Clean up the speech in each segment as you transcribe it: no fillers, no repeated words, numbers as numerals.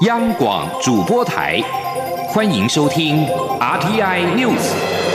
央广主播台，欢迎收听 RTI News。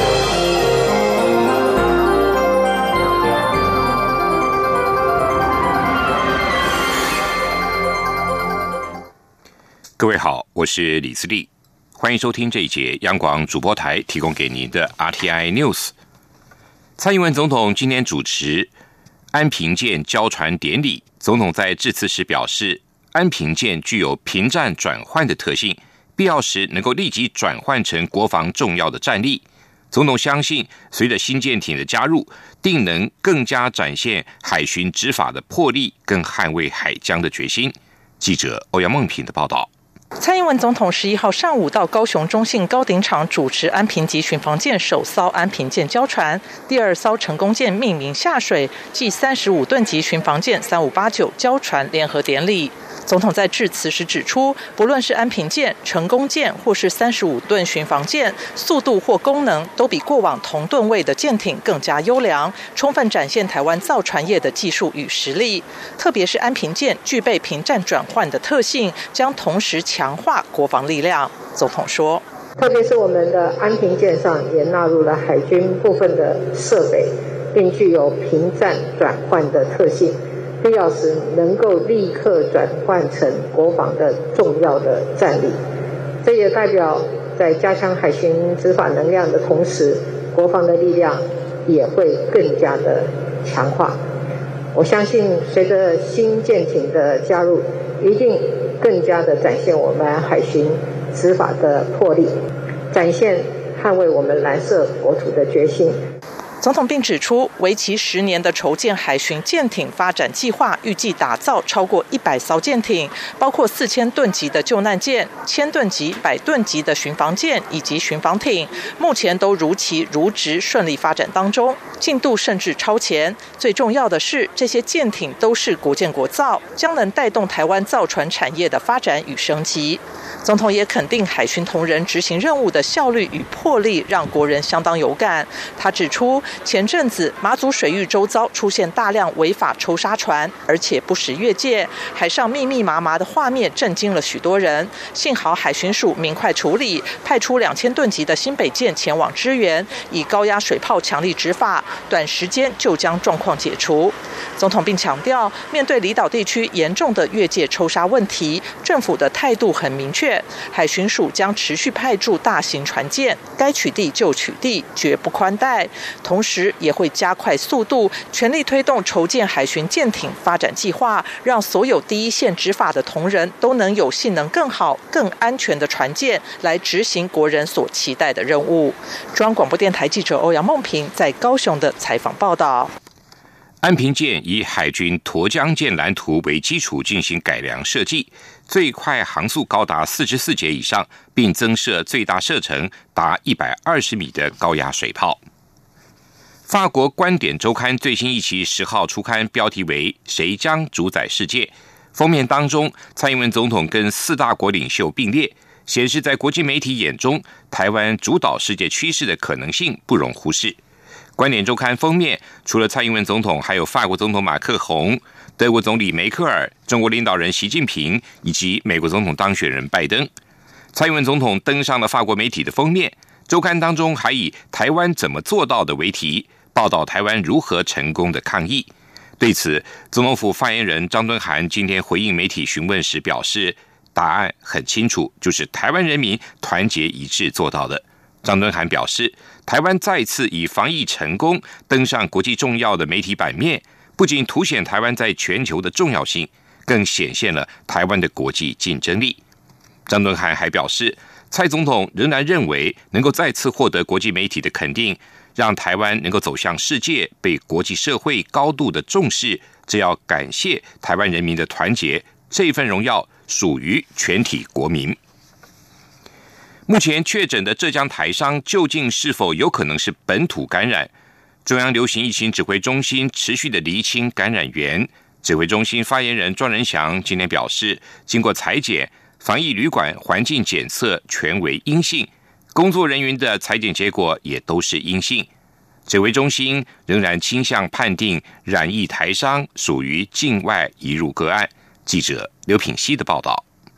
各位好，我是李自立，欢迎收听这一节央广主播台提供给您的 RTI News。蔡英文总统今天主持安平舰交船典礼，总统在致辞时表示，安平舰具有平战转换的特性，必要时能够立即转换成国防重要的战力。总统相信，随着新舰艇的加入，定能更加展现海巡执法的魄力，更捍卫海疆的决心。记者欧阳梦平的报道。 蔡英文总统11号上午到高雄中信高鼎场主持安平级巡防舰首艘安平舰交船，第二艘成功舰命名下水，暨35吨级巡防舰3589交船联合典礼。总统在致辞时指出，不论是安平舰、成功舰或是35吨巡防舰，速度或功能都比过往同吨位的舰艇更加优良，充分展现台湾造船业的技术与实力。特别是安平舰具备平战转换的特性，将同时强化国防力量。总统说， 特别是我们的安平舰上也纳入了海军部分的设备，并具有平战转换的特性，必要时能够立刻转换成国防的重要的战力。这也代表在加强海巡执法能量的同时，国防的力量也会更加的强化。我相信随着新舰艇的加入，一定更加的展现我们海巡执法的魄力，展现捍卫我们蓝色国土的决心。 总统并指出，为期10年的筹建海巡舰艇发展计划，预计打造超过100艘舰艇，包括4000吨级的救难舰、1000吨级、100吨级的巡防舰以及巡防艇，目前都如期如职顺利发展当中，进度甚至超前。最重要的是，这些舰艇都是国建国造，将能带动台湾造船产业的发展与升级。总统也肯定海巡同仁执行任务的效率与魄力，让国人相当有感。他指出，前阵子马祖水域周遭出现大量违法抽沙船，而且不时越界，海上密密麻麻的画面震惊了许多人。幸好海巡署明快处理，派出2000吨级的新北舰前往支援，以高压水炮强力执法，短时间就将状况解除。总统并强调，面对离岛地区严重的越界抽沙问题，政府的态度很明确，海巡署将持续派驻大型船舰，该取缔就取缔，绝不宽待。同时也会加快速度，全力推动筹建海巡舰艇发展计划，让所有第一线执法的同仁都能有性能更好、更安全的船舰来执行国人所期待的任务。中央广播电台记者欧阳梦平在高雄的采访报道。 安平舰以海军沱江舰蓝图为基础进行改良设计，最快航速高达44节以上，并增设最大射程达120米的高压水炮。法国观点周刊最新一期10号出刊，标题为“谁将主宰世界”。封面当中，蔡英文总统跟4大国领袖并列，显示在国际媒体眼中，台湾主导世界趋势的可能性不容忽视。观点周刊封面除了蔡英文总统，还有法国总统马克宏、德国总理梅克尔、中国领导人习近平以及美国总统当选人拜登。蔡英文总统登上了法国媒体的封面，周刊当中还以台湾怎么做到的为题，报道台湾如何成功的抗疫。对此，总统府发言人张敦涵今天回应媒体询问时表示，答案很清楚，就是台湾人民团结一致做到的。张敦涵表示，台湾再次以防疫成功登上国际重要的媒体版面，不仅凸显台湾在全球的重要性，更显现了台湾的国际竞争力。张敦涵还表示，蔡总统仍然认为能够再次获得国际媒体的肯定，让台湾能够走向世界，被国际社会高度的重视，这要感谢台湾人民的团结，这一份荣耀属于全体国民。目前确诊的浙江台商究竟是否有可能是本土感染？中央流行疫情指挥中心持续的厘清感染源。指挥中心发言人庄仁祥今天表示，经过采检，防疫旅馆环境检测全为阴性，工作人员的采检结果也都是阴性。指挥中心仍然倾向判定染疫台商属于境外移入个案。记者刘品希的报道。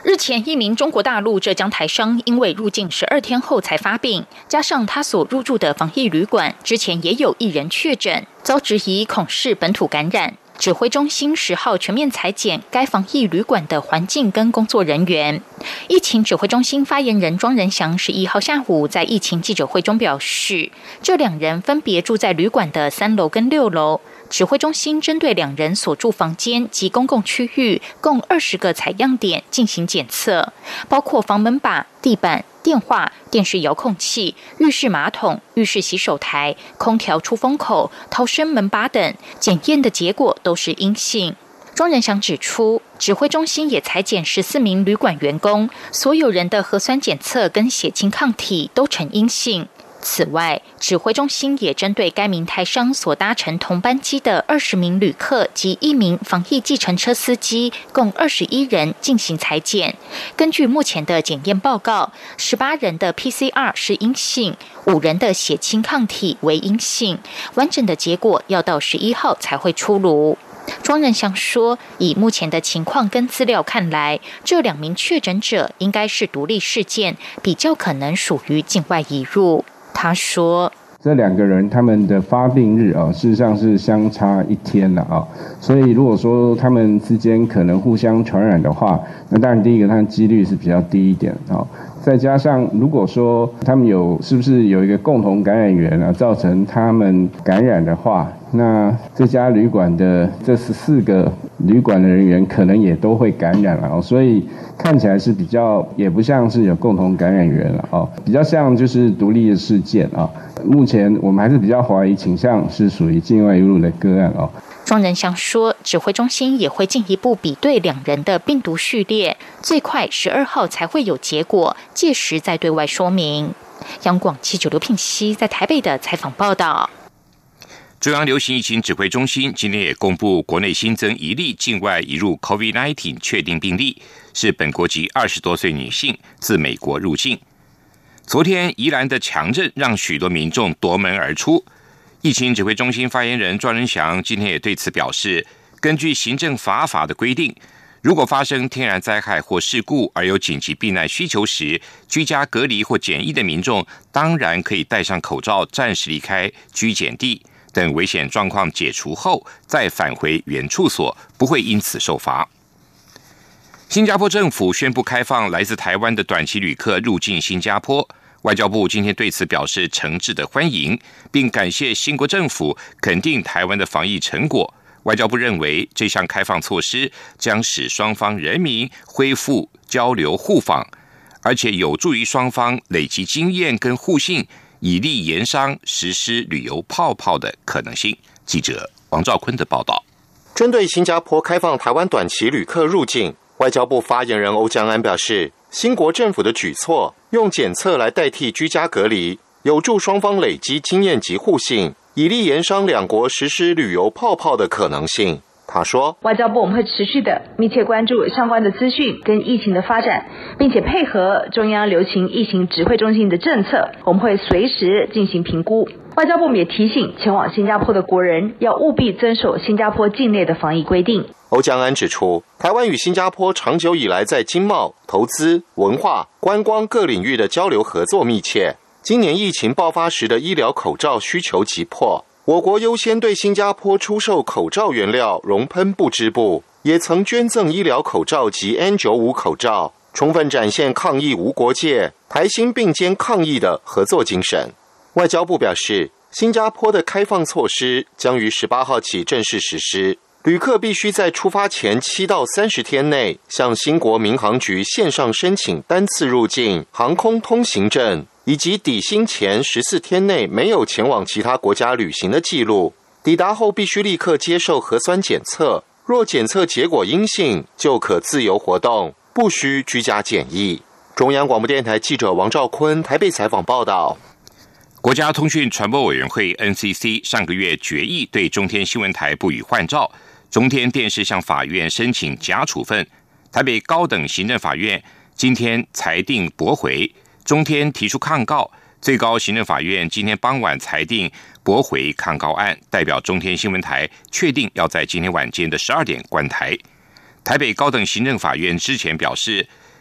日前，一名中国大陆浙江台商因为入境12天后才发病，加上他所入住的防疫旅馆之前也有1人确诊，遭质疑恐是本土感染。指挥中心10号全面采检该防疫旅馆的环境跟工作人员。疫情指挥中心发言人庄仁祥11号下午在疫情记者会中表示，这2人分别住在旅馆的3楼跟6楼。指挥中心针对2人所住房间及公共区域共20个采样点进行检测，包括房门把、地板、电话、电视遥控器、浴室马桶、浴室洗手台、空调出风口、逃生门把等，检验的结果都是阴性。庄仁祥指出，指挥中心也采检14名旅馆员工，所有人的核酸检测跟血清抗体都呈阴性。此外，指挥中心也针对该名台商所搭乘同班机的20名旅客及1名防疫计程车司机，共21人进行采检。根据目前的检验报告，18人的 PCR 是阴性，5人的血清抗体为阴性，完整的结果要到11号才会出炉。庄仁祥说，以目前的情况跟资料看来，这2名确诊者应该是独立事件，比较可能属于境外移入。他说， 这2个人他们的发病日事实上是相差1天了所以如果说他们之间可能互相传染的话，那当然第一个，它的几率是比较低一点再加上如果说他们是不是有一个共同感染源造成他们感染的话，那这家旅馆的这14个旅馆的人员可能也都会感染了所以看起来是比较也不像是有共同感染源了比较像就是独立的事件目前我们还是比较怀疑倾向是属于境外移入的个案庄仁祥说，指挥中心也会进一步比对2人的病毒序列，最快12号才会有结果，届时再对外说明。央广记者刘聘熙在台北的采访报道。 中央流行疫情指挥中心今天也公布，国内新增1例境外移入 COVID-19 确定病例，是本国籍20多岁女性，自美国入境。昨天宜兰的强震让许多民众夺门而出。疫情指挥中心发言人庄仁祥今天也对此表示，根据行政法的规定，如果发生天然灾害或事故而有紧急避难需求时，居家隔离或检疫的民众当然可以戴上口罩暂时离开居检地，等危险状况解除后再返回原处所，不会因此受罚。新加坡政府宣布开放来自台湾的短期旅客入境新加坡，外交部今天对此表示诚挚的欢迎，并感谢新国政府肯定台湾的防疫成果。外交部认为，这项开放措施将使双方人民恢复交流互访，而且有助于双方累积经验跟互信，以利研商实施旅游泡泡的可能性。记者王兆坤的报道。 针对新加坡开放台湾短期旅客入境，外交部发言人欧江安表示，新国政府的举措用检测来代替居家隔离，有助双方累积经验及互信，以利研商两国实施旅游泡泡的可能性。他说， 外交部我们会持续的密切关注相关的资讯跟疫情的发展，并且配合中央流行疫情指挥中心的政策，我们会随时进行评估。外交部也提醒前往新加坡的国人要务必遵守新加坡境内的防疫规定。 欧江安指出，台湾与新加坡长久以来在经贸、投资、文化、观光各领域的交流合作密切。今年疫情爆发时的医疗口罩需求急迫，我国优先对新加坡出售口罩原料熔喷布织布，也曾捐赠医疗口罩及 N95 口罩，充分展现抗疫无国界、台新并肩抗疫的合作精神。外交部表示，新加坡的开放措施将于18号起正式实施，旅客必须在出发前7到30天内向新国民航局线上申请单次入境航空通行证，以及抵新前14天内没有前往其他国家旅行的记录，抵达后必须立刻接受核酸检测，若检测结果阴性，就可自由活动，不需居家检疫。中央广播电台记者王兆坤台北采访报道。 国家通讯传播委员会 NCC 上个月决议对中天新闻台不予换照，中天电视向法院申请假处分，台北高等行政法院今天裁定驳回，中天提出抗告，最高行政法院今天傍晚裁定驳回抗告案，代表中天新闻台确定要在今天晚间的12点关台。台北高等行政法院之前表示，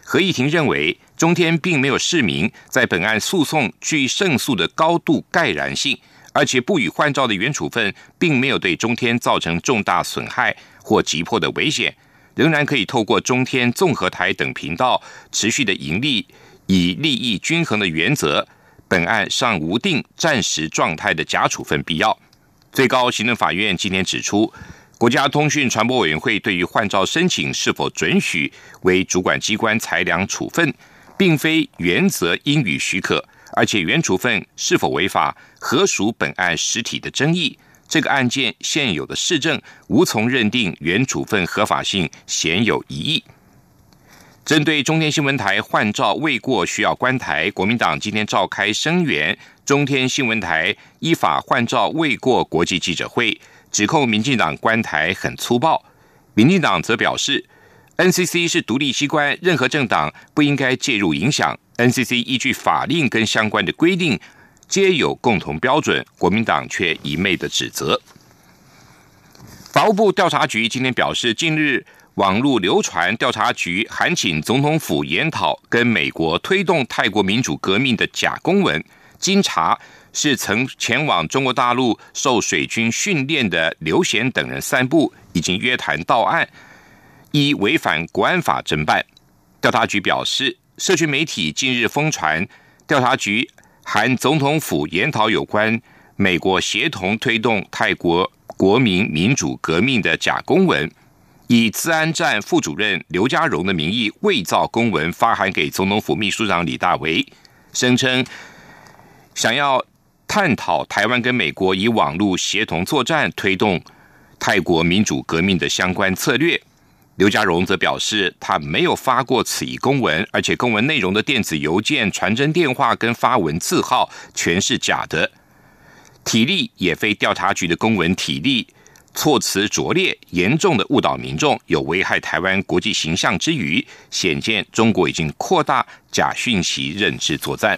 合议庭认为，中天并没有释明在本案诉讼具胜诉的高度盖然性，而且不予换照的原处分并没有对中天造成重大损害或急迫的危险，仍然可以透过中天、综合台等频道持续的盈利，以利益均衡的原则，本案尚无定暂时状态的假处分必要。最高行政法院今天指出，国家通讯传播委员会对于换照申请是否准许为主管机关裁量处分，并非原则应予许可，而且原处分是否违法，何属本案实体的争议。这个案件现有的事证无从认定原处分合法性鲜有疑义。针对中天新闻台换照未过需要关台，国民党今天召开声援中天新闻台依法换照未过国际记者会，指控民进党关台很粗暴。民进党则表示 NCC 是独立机关，任何政党不应该介入影响， NCC 依据法令跟相关的规定皆有共同标准，国民党却一昧的指责。法务部调查局今天表示，近日网络流传调查局函请总统府研讨跟美国推动泰国民主革命的假公文，经查是曾前往中国大陆受水军训练的刘贤等人散布，已经约谈到案，依违反国安法侦办。调查局表示，社群媒体近日疯传调查局函总统府研讨有关美国协同推动泰国国民民主革命的假公文，以资安站副主任刘家荣的名义伪造公文发函给总统府秘书长李大为，声称想要探讨台湾跟美国以网络协同作战推动泰国民主革命的相关策略。刘家荣则表示，他没有发过此一公文，而且公文内容的电子邮件、传真电话跟发文字号全是假的，体例也非调查局的公文体例，措辞拙劣，严重的误导民众，有危害台湾国际形象之余，显见中国已经扩大假讯息认知作战。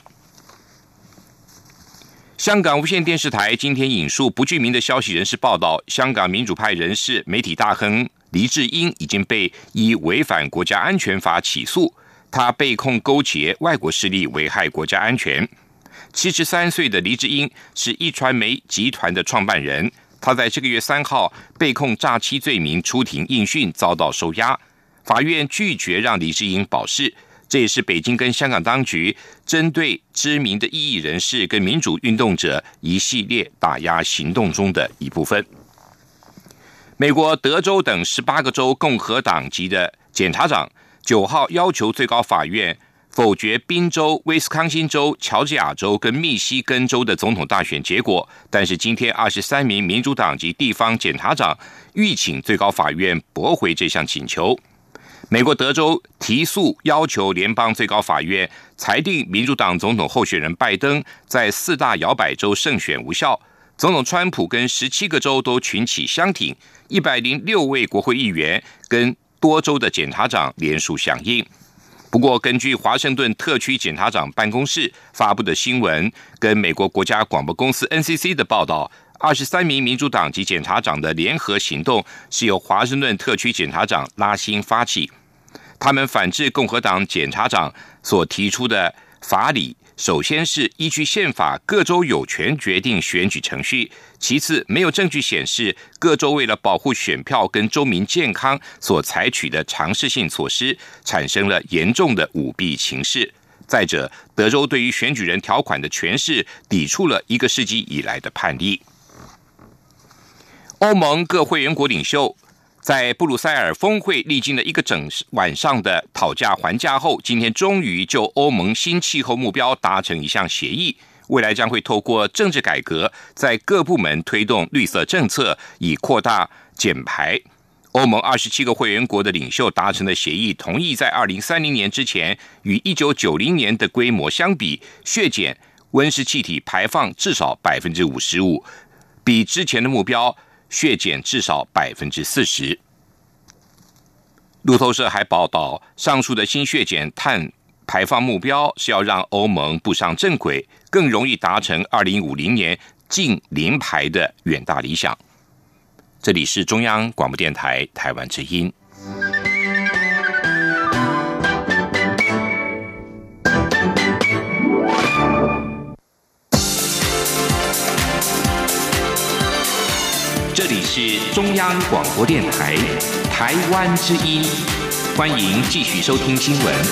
香港无线电视台今天引述不具名的消息人士报道，香港民主派人士、媒体大亨黎智英已经被依违反国家安全法起诉，他被控勾结外国势力危害国家安全。73岁的黎智英是一传媒集团的创办人，他在这个月3号被控诈欺罪名出庭应讯，遭到收押。法院拒绝让黎智英保释，这也是北京跟香港当局针对知名的异议人士跟民主运动者一系列打压行动中的一部分。美国德州等18个州共和党籍的检察长9号要求最高法院否决宾州、威斯康星州、乔治亚州跟密西根州的总统大选结果，但是今天23名民主党籍地方检察长欲请最高法院驳回这项请求。美国德州提诉要求联邦最高法院裁定民主党总统候选人拜登在4大摇摆州胜选无效，总统川普跟17个州都群起相挺，106位国会议员跟多州的检察长联署响应。不过，根据华盛顿特区检察长办公室发布的新闻跟美国国家广播公司 NCC 的报道，23名民主党籍检察长的联合行动是由华盛顿特区检察长拉辛发起。他们反制共和党检察长所提出的法理，首先是依据宪法，各州有权决定选举程序；其次，没有证据显示各州为了保护选票跟州民健康所采取的常识性措施，产生了严重的舞弊情势；再者，德州对于选举人条款的诠释抵触了1个世纪以来的判例。欧盟各会员国领袖在布鲁塞尔峰会历经了1个整晚上的讨价还价后，今天终于就欧盟新气候目标达成一项协议，未来将会透过政治改革，在各部门推动绿色政策，以扩大减排。欧盟27个会员国的领袖达成的协议，同意在2030年之前，与1990年的规模相比，削减温室气体排放至少 55%， 比之前的目标削减至少 40%。 路透社还报道，上述的新削减碳排放目标是要让欧盟步上正轨，更容易达成2050年净零排的远大理想。这里是中央广播电台台湾之音。 央广播电台台湾之音，欢迎继续收听新闻。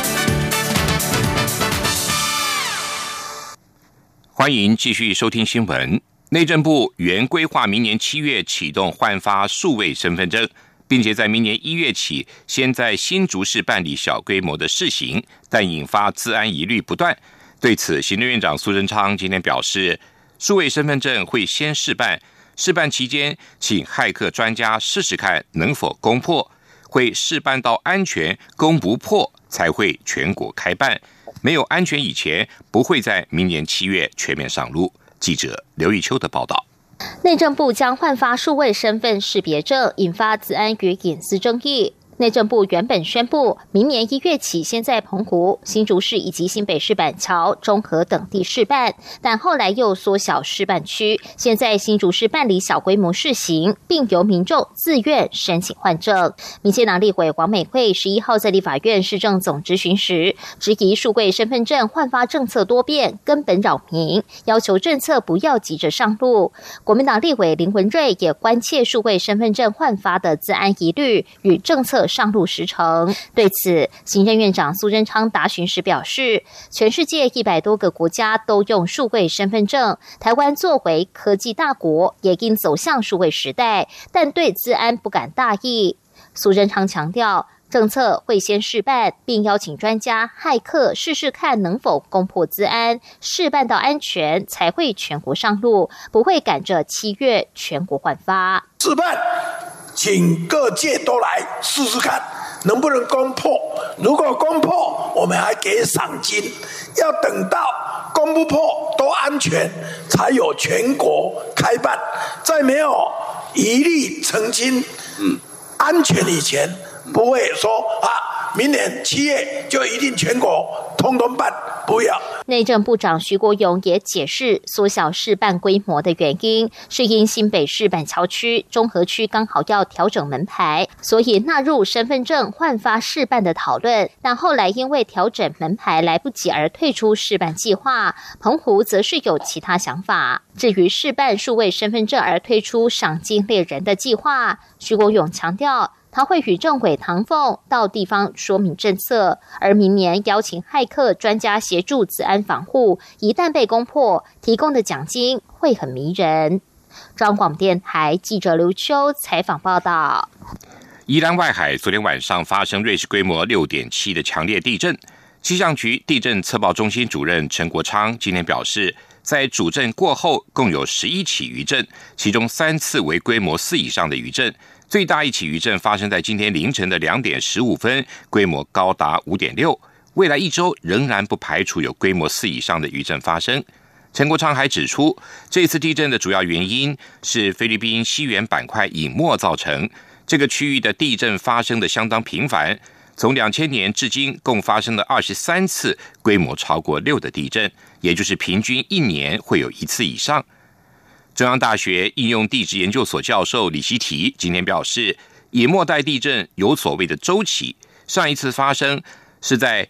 欢迎继续收听新闻。内政部原规划明年7月启动换发数位身份证，并且在明年1月起先在新竹市办理小规模的试行，但引发资安疑虑不断。对此，行政院长苏贞昌今天表示，数位身份证会先试办，试办期间请骇客专家试试看能否攻破，会试办到安全攻不破才会全国开办，没有安全以前不会在明年7月全面上路。记者刘玉秋的报道。 内政部将换发数位身份识别证，引发资安与隐私争议。内政部原本宣布，明年1月起先在澎湖、新竹市以及新北市板桥、中和等地试办，但后来又缩小试办区，现在新竹市办理小规模试行，并由民众自愿申请换证。民进党立委王美惠11号在立法院市政总质询时，质疑数位身份证换发政策多变，根本扰民，要求政策不要急着上路。国民党立委林文瑞也关切数位身份证换发的资安疑虑与政策上路时程。对此，行政院长苏贞昌答询时表示，全世界100多个国家都用数位身份证，台湾作为科技大国，也应走向数位时代，但对资安不敢大意。苏贞昌强调，政策会先试办，并邀请专家、骇客试试看能否攻破资安，试办到安全才会全国上路，不会赶着7月全国换发。 试办，请各界都来试试看能不能攻破，如果攻破我们还给赏金，要等到攻不破都安全才有全国开办，在没有疑虑澄清安全以前，不会说明年7月就一定全国通通办，不要。 内政部长徐国勇也解释，缩小试办规模的原因是因新北市板桥区、中和区刚好要调整门牌，所以纳入身份证换发试办的讨论，但后来因为调整门牌来不及而退出试办计划。澎湖则是有其他想法。至于试办数位身份证而推出赏金猎人的计划，徐国勇强调，他会与政委唐凤到地方说明政策，而明年邀请骇客专家协助资安防护，一旦被攻破，提供的奖金会很迷人。中央广播电台记者刘秋采访报道。 宜兰外海昨天晚上发生瑞士规模6.7的强烈地震，气象局地震测报中心主任陈国昌今天表示，在主震过后共有11起余震，其中3次为规模4以上的余震，最大一起余震发生在今天凌晨的2点15分，规模高达5.6。未来1周仍然不排除有规模4以上的余震发生。陈国昌还指出，这次地震的主要原因是菲律宾西缘板块隐没造成，这个区域的地震发生的相当频繁，从2000年至今共发生了23次规模超过6的地震，也就是平均1年会有1次以上。中央大学应用地质研究所教授李希提今天表示，隐没带地震有所谓的周期，上一次发生是在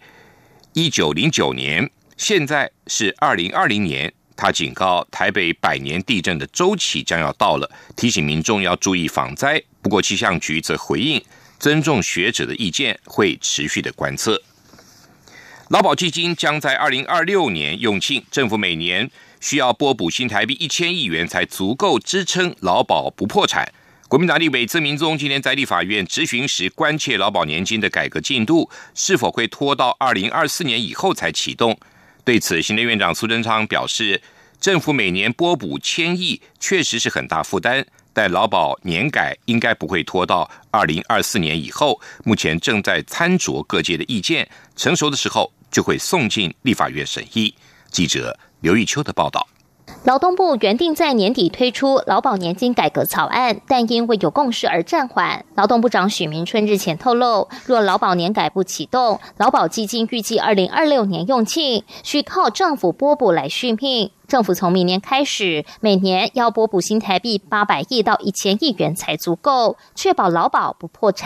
1909年，现在是2020年。他警告台北100年地震的周期将要到了，提醒民众要注意防灾。不过气象局则回应，尊重学者的意见，会持续的观测。劳保基金将在2026年用罄，政府每年需要拨补新台币1000亿元才足够支撑劳保不破产。国民党立委曾明宗今天在立法院质询时，关切劳保年金的改革进度是否会拖到2024年以后才启动。对此，行政院长苏贞昌表示，政府每年拨补1000亿确实是很大负担，但劳保年改应该不会拖到2024年以后，目前正在参酌各界的意见，成熟的时候就会送进立法院审议。记者刘玉秋的报道。 劳动部原定在年底推出劳保年金改革草案，但因未有共识而暂缓。劳动部长许明春日前透露，若劳保年改不启动，劳保基金预计2026年用罄，需靠政府拨补来续命。政府从明年开始，每年要拨补新台币800亿到1000亿元才足够，确保劳保不破产。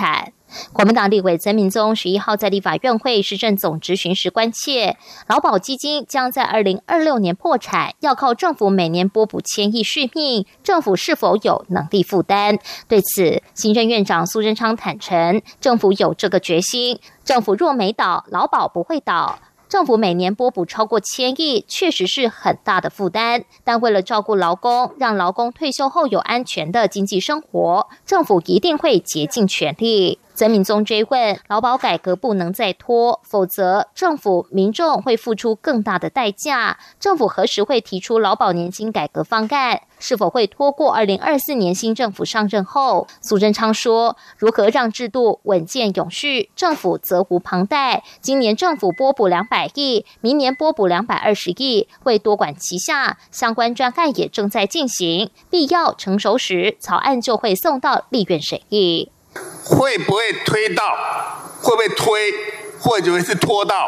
国民党立委曾明宗11号在立法院会市政总质询时关切，劳保基金将在2026年破产，要靠政府每年拨补1000亿续命，政府是否有能力负担？对此，行政院长苏贞昌坦承，政府有这个决心，政府若没倒，劳保不会倒。政府每年拨补超过1000亿，确实是很大的负担，但为了照顾劳工，让劳工退休后有安全的经济生活，政府一定会竭尽全力。曾明宗追问，劳保改革不能再拖，否则政府民众会付出更大的代价。政府何时会提出劳保年金改革方案？是否会拖过2024年新政府上任后？苏贞昌说，如何让制度稳健永续，政府责无旁贷。今年政府拨补200亿，明年拨补220亿，会多管齐下，相关专案也正在进行，必要成熟时，草案就会送到立院审议。 会不会推到？会不会推？或者是拖到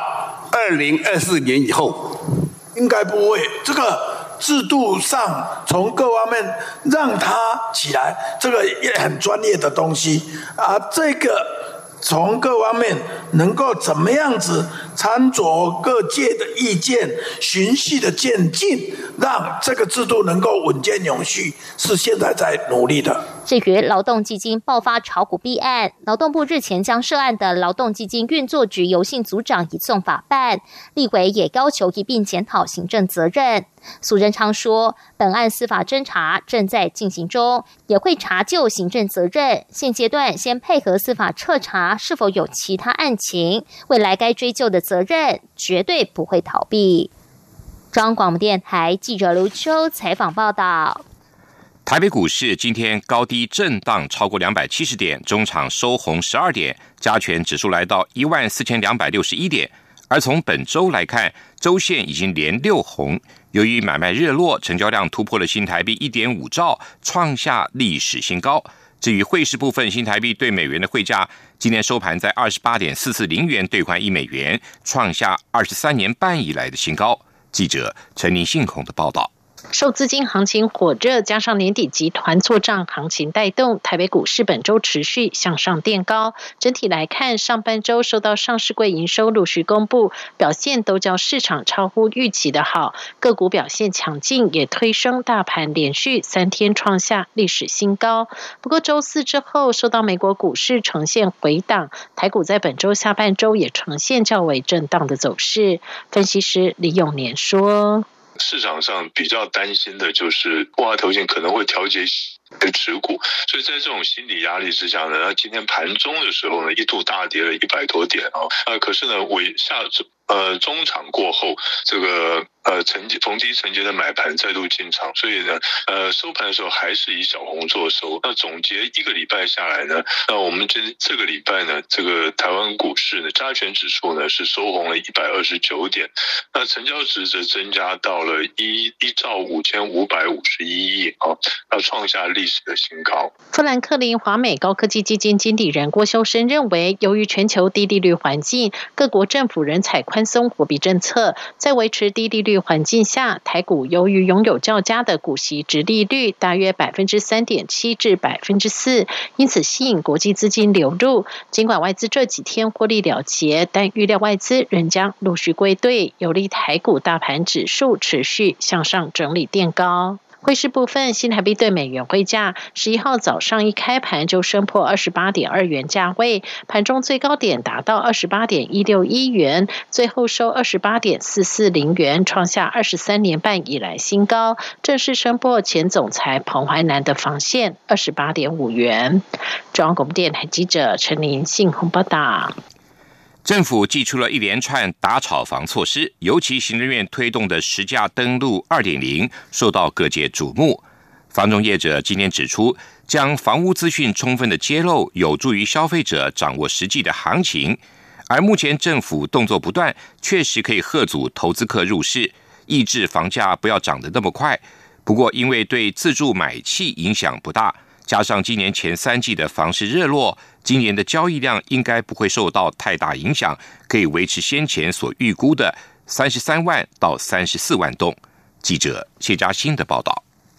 2024年以后？ 应该不会。这个制度上从各方面让它起来，这个也很专业的东西啊。这个从各方面能够怎么样子参酌各界的意见，循序的渐进，让这个制度能够稳健永续，是现在在努力的。 至于劳动基金爆发炒股弊案，劳动部日前将涉案的劳动基金运作局游姓组长移送法办，立委也要求一并检讨行政责任。苏贞昌说，本案司法侦查正在进行中，也会查究行政责任，现阶段先配合司法彻查是否有其他案情，未来该追究的责任绝对不会逃避。中央广播电台记者刘秋采访报道。 台北股市今天高低震荡超过270点，中场收红12点，加权指数来到14261点。而从本周来看，周线已经连6红，由于买卖热络，成交量突破了新台币 1.5 兆，创下历史新高。至于汇市部分，新台币对美元的汇价今天收盘在 28.440 元兑换1美元，创下23年半以来的新高。记者陈林信宏的报道。 受资金行情火热，加上年底集团作账行情带动，台北股市本周持续向上垫高。整体来看，上半周受到上市柜营收陆续公布，表现都较市场超乎预期的好，个股表现强劲，也推升大盘连续3天创下历史新高。不过周四之后，受到美国股市呈现回档，台股在本周下半周也呈现较为震荡的走势。分析师李永年说， 市场上比较担心的就是万华投信可能会调节持股，所以在这种心理压力之下呢，今天盘中的时候呢，一度大跌了100多点可是呢，中场过后，这个逢低承接的买盘再度进场，所以呢，收盘的时候还是以小红做收。那总结一个礼拜下来呢，那我们这个礼拜呢，这个台湾股市呢，加权指数呢是收红了129点，那成交值则增加到了1兆5551亿要创下历史的新高。 富兰克林华美高科技基金经理人郭修身认为，由于全球低利率环境，各国政府仍采宽松货币政策，在维持低利率环境下，台股由于拥有较佳的股息殖利率，大约 3.7% 至 4%， 因此吸引国际资金流入。尽管外资这几天获利了结，但预料外资仍将陆续归队，有利台股大盘指数持续向上整理垫高。汇市部分，新台币对美元汇价11号早上一开盘就升破 28.2 元价位，盘中最高点达到 28.161 元，最后收 28.440 元，创下23年半以来新高，正式升破前总裁彭淮南的防线 28.5 元。中央广播电台记者陈林信宏报道。 政府祭出了一连串打炒房措施，尤其行政院推动的实价登录 2.0 受到各界瞩目。房仲业者今天指出，将房屋资讯充分的揭露，有助于消费者掌握实际的行情。而目前政府动作不断，确实可以吓阻投资客入市，抑制房价不要涨得那么快。不过因为对自住买气影响不大，加上今年前3季的房市热络，今年的交易量应该不会受到太大影响，可以维持先前所预估的33万到34万栋。记者谢嘉欣的报道。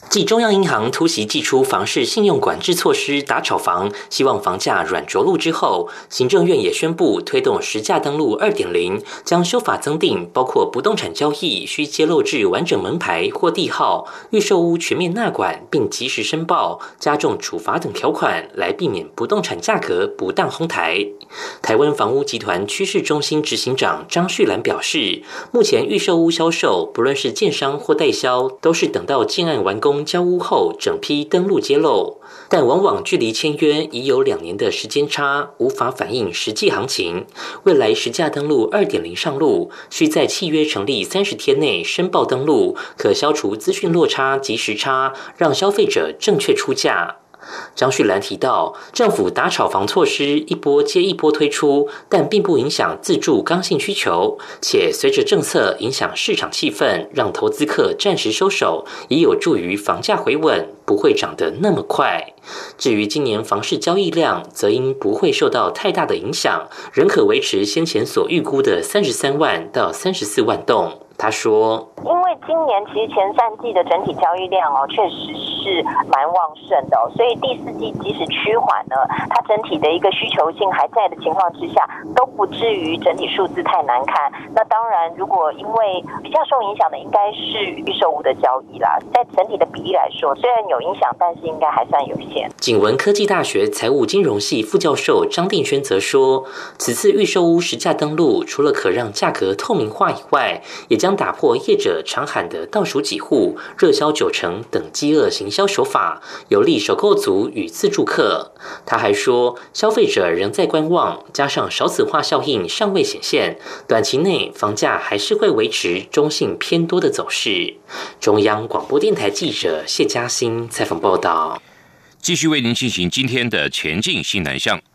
继中央银行突袭祭出房市信用管制措施打炒房，希望房价软着陆之后，行政院也宣布推动实价登录 2.0， 将修法增订包括不动产交易需揭露至完整门牌或地号、预售屋全面纳管并及时申报、加重处罚等条款，来避免不动产价格不当哄抬。台湾房屋集团趋势中心执行长张旭兰表示，目前预售屋销售不论是建商或代销，都是等到建案完工交屋后整批登录揭露，但往往距离签约已有2年的时间差，无法反映实际行情。未来实价登录 2.0 上路，需在契约成立30天内申报登录，可消除资讯落差及时差，让消费者正确出价。张旭兰提到，政府打炒房措施一波接一波推出，但并不影响自住刚性需求，且随着政策影响市场气氛，让投资客暂时收手，也有助于房价回稳，不会涨得那么快。至于今年房市交易量，则因不会受到太大的影响，仍可维持先前所预估的33万到34万栋。他说， 因为今年其实前3季的整体交易量确实是蛮旺盛的所以第4季即使趋缓呢，它整体的一个需求性还在的情况之下，都不至于整体数字太难看。那当然，如果因为比较受影响的应该是预售屋的交易啦，在整体的比例来说，虽然有影响，但是应该还算有限。 景文科技大学财务金融系副教授张定轩则说，此次预售屋实价登录，除了可让价格透明化以外，也将打破业者常喊的倒数几户、热销90%等饥饿行销手法，有利首购族与自住客。他还说，消费者仍在观望，加上少子化效应尚未显现，短期内房价还是会维持中性偏多的走势。中央广播电台记者谢嘉欣采访报道。 继续为您进行今天的前进新南向。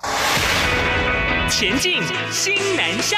前进新南向。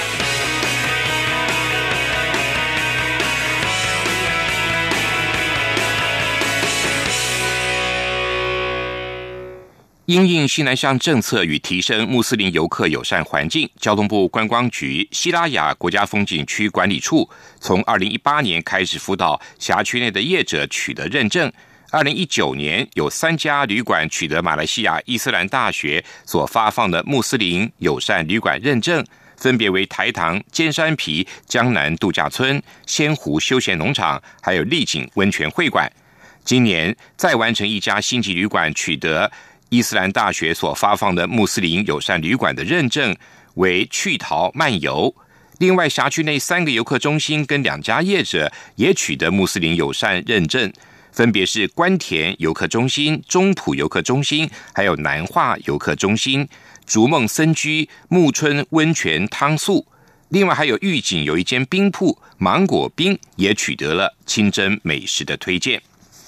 因应新南向政策与提升穆斯林游客友善环境，交通部观光局西拉雅国家风景区管理处从2018年开始辅导辖区内的业者取得认证。2019年有3家旅馆取得马来西亚伊斯兰大学所发放的穆斯林友善旅馆认证，分别为台糖尖山皮江南度假村、仙湖休闲农场，还有丽景温泉会馆。今年再完成1家星级旅馆取得伊斯兰大学所发放的穆斯林友善旅馆的认证，为趣陶漫游。另外，辖区内3个游客中心跟2家业者也取得穆斯林友善认证，分别是关田游客中心、中埔游客中心，还有南化游客中心、逐梦森居、木春温泉汤宿。另外还有玉井有一间冰铺芒果冰也取得了清真美食的推荐。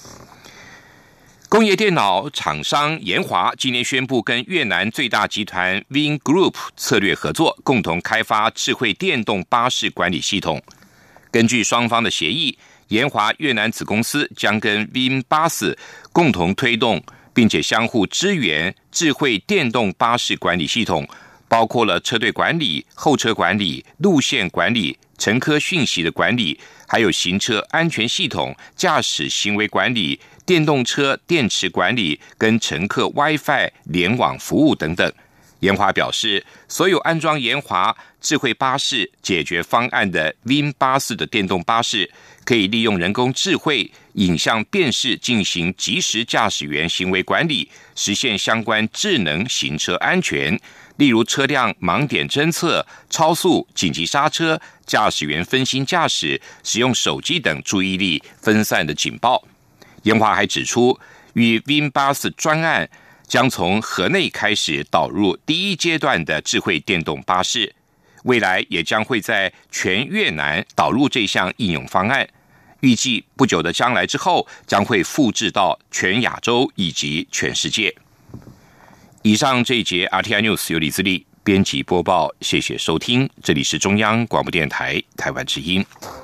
工业电脑厂商研华今年宣布跟越南最大集团 Vingroup 策略合作，共同开发智慧电动巴士管理系统。根据双方的协议，研华越南子公司将跟 Vinbus 共同推动，并且相互支援智慧电动巴士管理系统，包括了车队管理、候车管理、路线管理、乘客讯息的管理，还有行车安全系统、驾驶行为管理、电动车电池管理跟乘客 WiFi 联网服务等等。研华表示，所有安装研华智慧巴士解决方案的 Vinbus 的电动巴士，可以利用人工智慧影像辨识进行即时驾驶员行为管理，实现相关智能行车安全，例如车辆盲点侦测、超速、紧急刹车、驾驶员分心驾驶、使用手机等注意力分散的警报。研华还指出，与 Vinbus 专案将从河内开始导入第1阶段的智慧电动巴士，未来也将会在全越南导入这项应用方案，预计不久的将来之后将会复制到全亚洲以及全世界。以上这一节 RTI News 由李自力编辑播报，谢谢收听，这里是中央广播电台台湾之音。